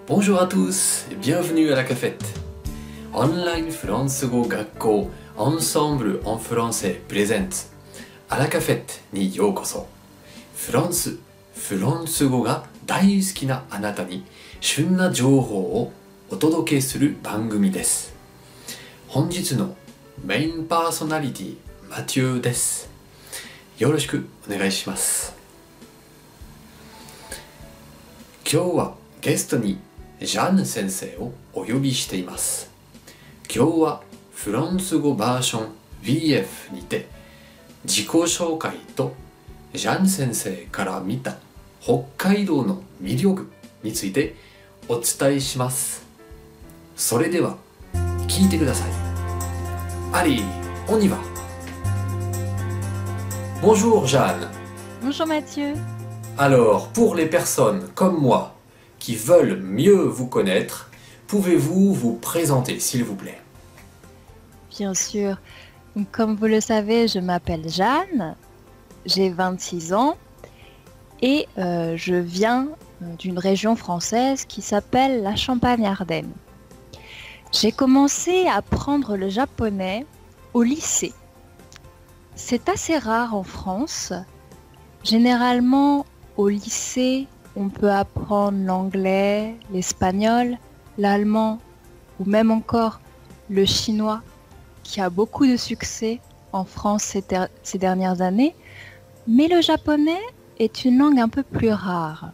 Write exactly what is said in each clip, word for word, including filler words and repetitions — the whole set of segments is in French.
Bonjour à tous et bienvenue à la cafette. Online フランス語学校 Ensemble en français présente à la cafette にようこそ。フランス、フランス語が大好きなあなたに旬な情報をお届けする番組です。本日のメインパーソナリティマティオです。よろしくお願いします。今日はゲストにジャン先生をお呼びしています。今日はフランス語バージョン ブイエフ にて自己紹介とジャン先生から見た北海道の魅力についてお伝えします。それでは聞いてください。Allez, on y va. Bonjour Jeanne. Bonjour Mathieu. Alors, pour les personnes comme moi qui veulent mieux vous connaître, pouvez-vous vous présenter, s'il vous plaît? Bien sûr. Donc, comme vous le savez, je m'appelle Jeanne, j'ai vingt-six ans et euh, je viens d'une région française qui s'appelle la Champagne-Ardenne. J'ai commencé à apprendre le japonais au lycée. C'est assez rare en France. Généralement, au lycée, on peut apprendre l'anglais, l'espagnol, l'allemand ou même encore le chinois qui a beaucoup de succès en France ces, ter- ces dernières années. Mais le japonais est une langue un peu plus rare.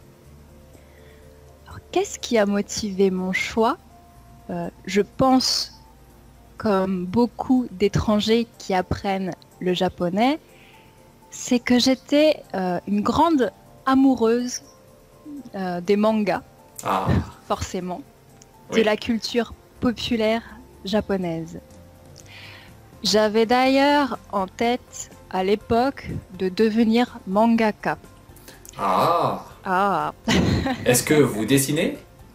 Alors, qu'est-ce qui a motivé mon choix ? euh, Je pense, comme beaucoup d'étrangers qui apprennent le japonais, c'est que j'étais euh, une grande amoureuse euh, des mangas, Ah, forcément, oui. de la culture populaire japonaise. J'avais d'ailleurs en tête à l'époque de devenir mangaka. Ah, Ah, est-ce que vous dessinez?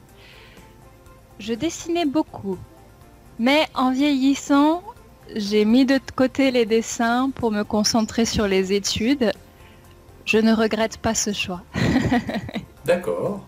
je dessinais beaucoup, mais en vieillissant, j'ai mis de côté les dessins pour me concentrer sur les études. Je ne regrette pas ce choix. D'accord.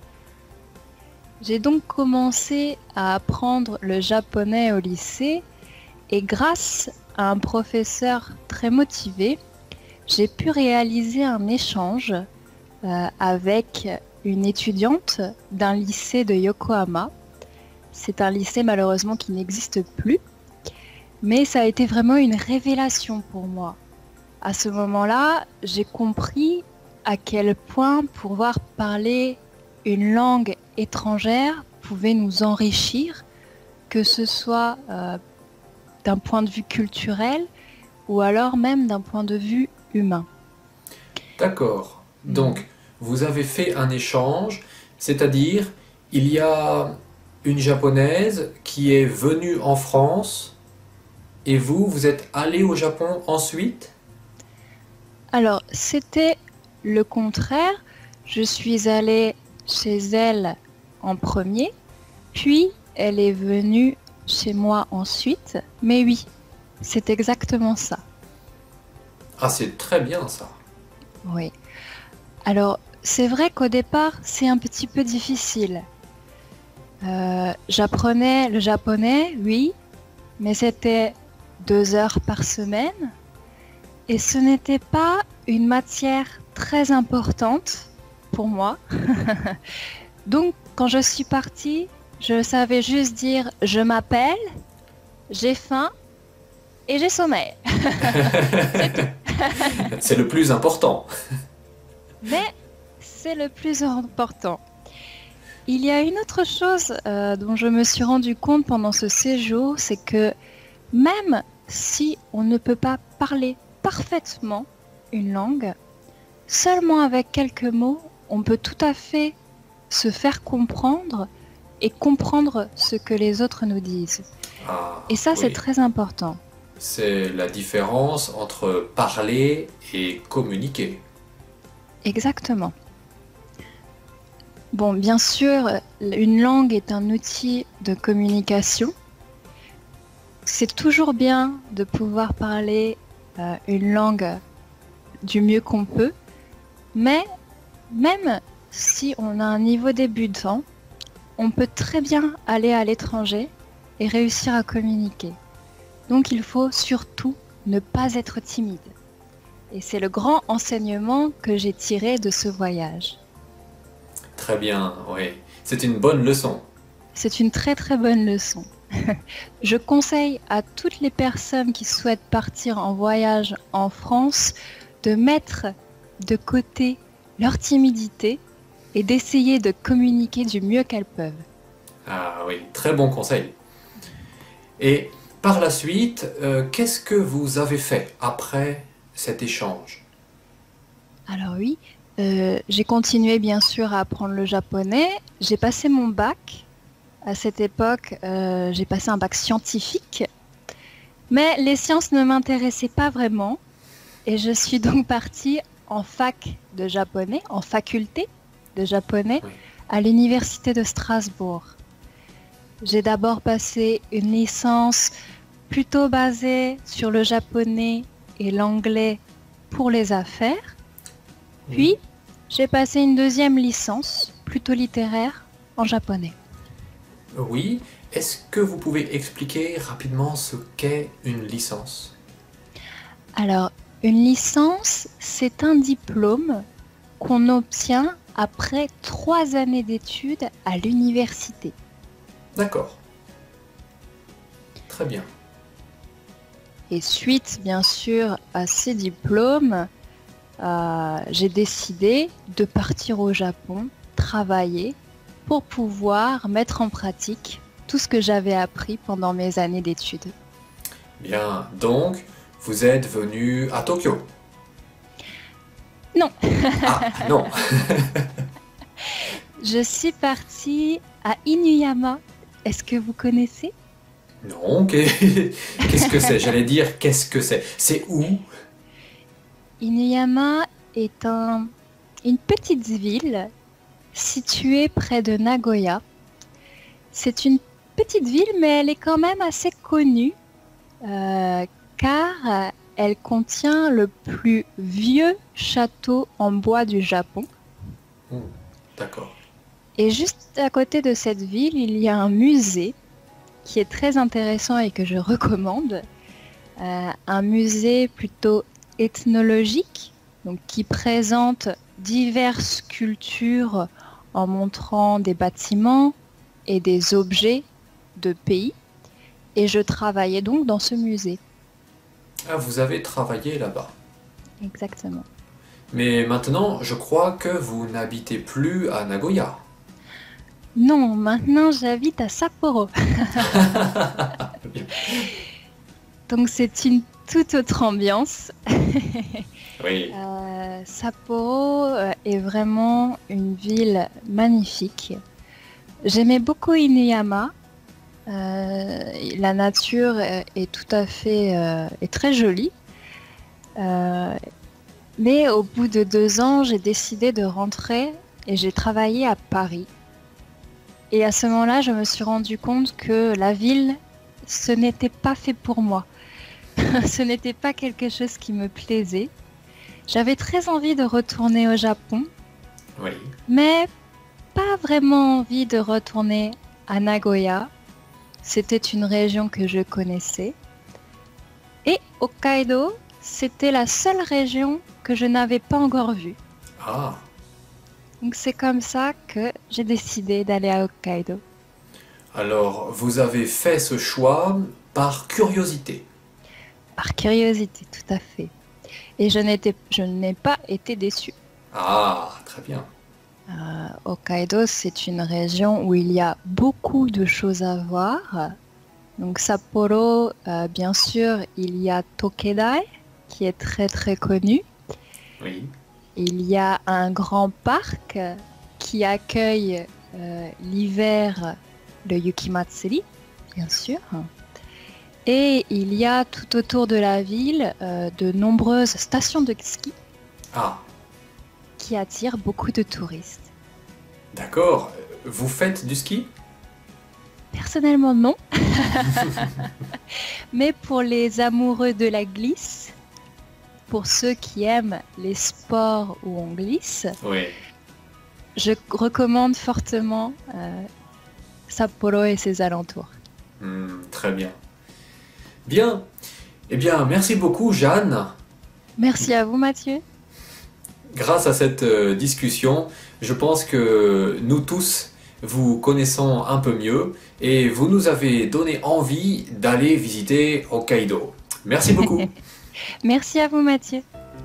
J'ai donc commencé à apprendre le japonais au lycée et grâce à un professeur très motivé, j'ai pu réaliser un échange euh, avec une étudiante d'un lycée de Yokohama. C'est un lycée malheureusement qui n'existe plus, mais ça a été vraiment une révélation pour moi. À ce moment-là, j'ai compris à quel point pouvoir parler une langue étrangère pouvait nous enrichir, que ce soit euh, d'un point de vue culturel ou alors même d'un point de vue humain. D'accord. Donc, vous avez fait un échange, c'est-à-dire, il y a une japonaise qui est venue en France et vous, vous êtes allé au Japon ensuite? Alors, c'était le contraire. Je suis allée chez elle en premier, puis elle est venue chez moi ensuite. Mais oui, c'est exactement ça. Ah, c'est très bien ça. Oui. Alors, c'est vrai qu'au départ, c'est un petit peu difficile. Euh, j'apprenais le japonais, oui, mais c'était deux heures par semaine. Et ce n'était pas une matière très importante pour moi. Donc, quand je suis partie, je savais juste dire « je m'appelle, j'ai faim et j'ai sommeil ». C'est le plus important. Mais c'est le plus important. Il y a une autre chose euh, dont je me suis rendu compte pendant ce séjour, c'est que même si on ne peut pas parler parfaitement une langue, seulement avec quelques mots, on peut tout à fait se faire comprendre et comprendre ce que les autres nous disent. Ah, Et ça, oui. c'est très important. C'est la différence entre parler et communiquer. Exactement. Bon, bien sûr, une langue est un outil de communication. C'est toujours bien de pouvoir parler euh, une langue du mieux qu'on peut, mais même si on a un niveau débutant, on peut très bien aller à l'étranger et réussir à communiquer. Donc il faut surtout ne pas être timide. Et c'est le grand enseignement que j'ai tiré de ce voyage. Très bien, oui. C'est une bonne leçon. C'est une très très bonne leçon. Je conseille à toutes les personnes qui souhaitent partir en voyage en France de mettre de côté leur timidité et d'essayer de communiquer du mieux qu'elles peuvent. Ah oui, très bon conseil. Et par la suite, euh, qu'est-ce que vous avez fait après cet échange? Alors oui, euh, j'ai continué bien sûr à apprendre le japonais. J'ai passé mon bac. À cette époque, euh, j'ai passé un bac scientifique. Mais les sciences ne m'intéressaient pas vraiment. Et je suis donc partie en fac de japonais, en faculté de japonais, Oui. à l'université de Strasbourg. J'ai d'abord passé une licence plutôt basée sur le japonais et l'anglais pour les affaires. Puis, j'ai passé une deuxième licence, plutôt littéraire, en japonais. Oui, est-ce que vous pouvez expliquer rapidement ce qu'est une licence? Alors, une licence, c'est un diplôme qu'on obtient après trois années d'études à l'université. D'accord. Très bien. Et suite, bien sûr, à ces diplômes, euh, j'ai décidé de partir au Japon, travailler, pour pouvoir mettre en pratique tout ce que j'avais appris pendant mes années d'études. Bien, donc, vous êtes venu à Tokyo? Non. Ah, non. Je suis partie à Inuyama. Est-ce que vous connaissez? Non, qu'est-ce que c'est? J'allais dire, qu'est-ce que c'est? C'est où? Inuyama est un, une petite ville située près de Nagoya. C'est une petite ville, mais elle est quand même assez connue, euh, car elle contient le plus vieux château en bois du Japon. Mmh, d'accord. Et juste à côté de cette ville, il y a un musée qui est très intéressant et que je recommande. Euh, un musée plutôt ethnologique, donc qui présente diverses cultures en montrant des bâtiments et des objets de pays. Et je travaillais donc dans ce musée. Ah, vous avez travaillé là-bas. Exactement. Mais maintenant, je crois que vous n'habitez plus à Nagoya. Non, maintenant j'habite à Sapporo. Donc c'est une toute autre ambiance. Oui. Euh, Sapporo euh, est vraiment une ville magnifique. J'aimais beaucoup Inuyama. Euh, la nature est, est tout à fait euh, est très jolie. Euh, mais au bout de deux ans, j'ai décidé de rentrer et j'ai travaillé à Paris. Et à ce moment-là, je me suis rendu compte que la ville, ce n'était pas fait pour moi. Ce n'était pas quelque chose qui me plaisait. J'avais très envie de retourner au Japon, Oui. mais pas vraiment envie de retourner à Nagoya. C'était une région que je connaissais. Et Hokkaido, c'était la seule région que je n'avais pas encore vue. Ah, Donc c'est comme ça que j'ai décidé d'aller à Hokkaido. alors vous avez fait ce choix par curiosité. Par curiosité, tout à fait. Et je n'étais, je n'ai pas été déçue. Ah, très bien. Euh, Hokkaido, c'est une région où il y a beaucoup de choses à voir. Donc Sapporo, euh, bien sûr, il y a Tokedai, qui est très très connu. Oui. Il y a un grand parc qui accueille euh, l'hiver le Yukimatsuri, bien sûr. Et il y a tout autour de la ville euh, de nombreuses stations de ski Ah, qui attirent beaucoup de touristes. d'accord. Vous faites du ski? Personnellement, non. Mais pour les amoureux de la glisse, pour ceux qui aiment les sports où on glisse, Oui. je recommande fortement euh, Sapporo et ses alentours. Hmm, très bien. Bien. Eh bien, merci beaucoup, Jeanne. Merci à vous, Mathieu. Grâce à cette euh, discussion, je pense que nous tous vous connaissons un peu mieux et vous nous avez donné envie d'aller visiter Hokkaido. Merci beaucoup. Merci à vous, Mathieu.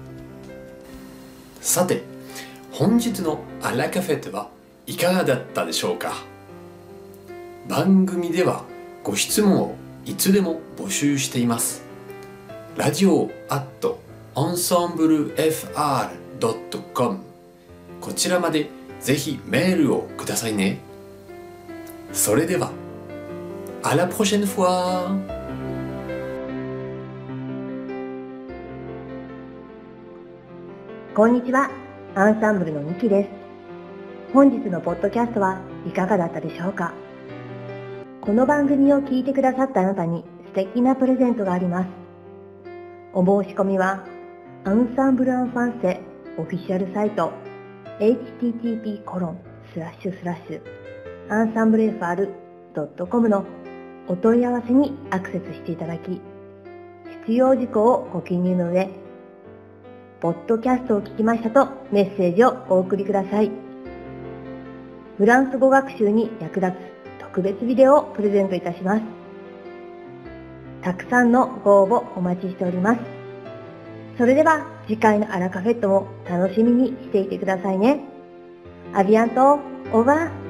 さて、本日のアラカフェットはいかがだったでしょうか。番組ではご質問をいつでも募集しています。ラジオ アット エンセンブル エフアール ドット コム こちらまでぜひメールをくださいね。それでは、à la prochaine fois! こんにちは、アンサンブルのミキです。本日のポッドキャストはいかがだったでしょうか。この番組を聞いてくださったあなたに素敵なプレゼントがあります。お申し込みは、アンサンブル・アン・ファンセオフィシャルサイト エイチティーティーピーコロンスラッシュスラッシュアンサンブル エフアール ドット コム のお問い合わせにアクセスしていただき、必要事項をご記入の上、ポッドキャストを聞きましたとメッセージをお送りください。フランス語学習に役立つ特別ビデオをプレゼントいたします。たくさんのご応募お待ちしております。それでは次回のアラカフェットも楽しみにしていてくださいね。アビアント、オーバー。